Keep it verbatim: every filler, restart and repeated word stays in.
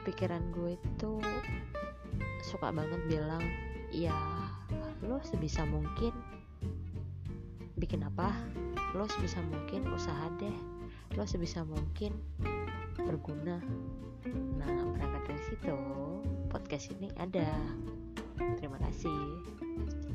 pikiran gue itu suka banget bilang, ya lo sebisa mungkin bikin apa, lo sebisa mungkin usaha deh, lo sebisa mungkin berguna. Nah, berangkat dari situ podcast ini ada. Terima kasih.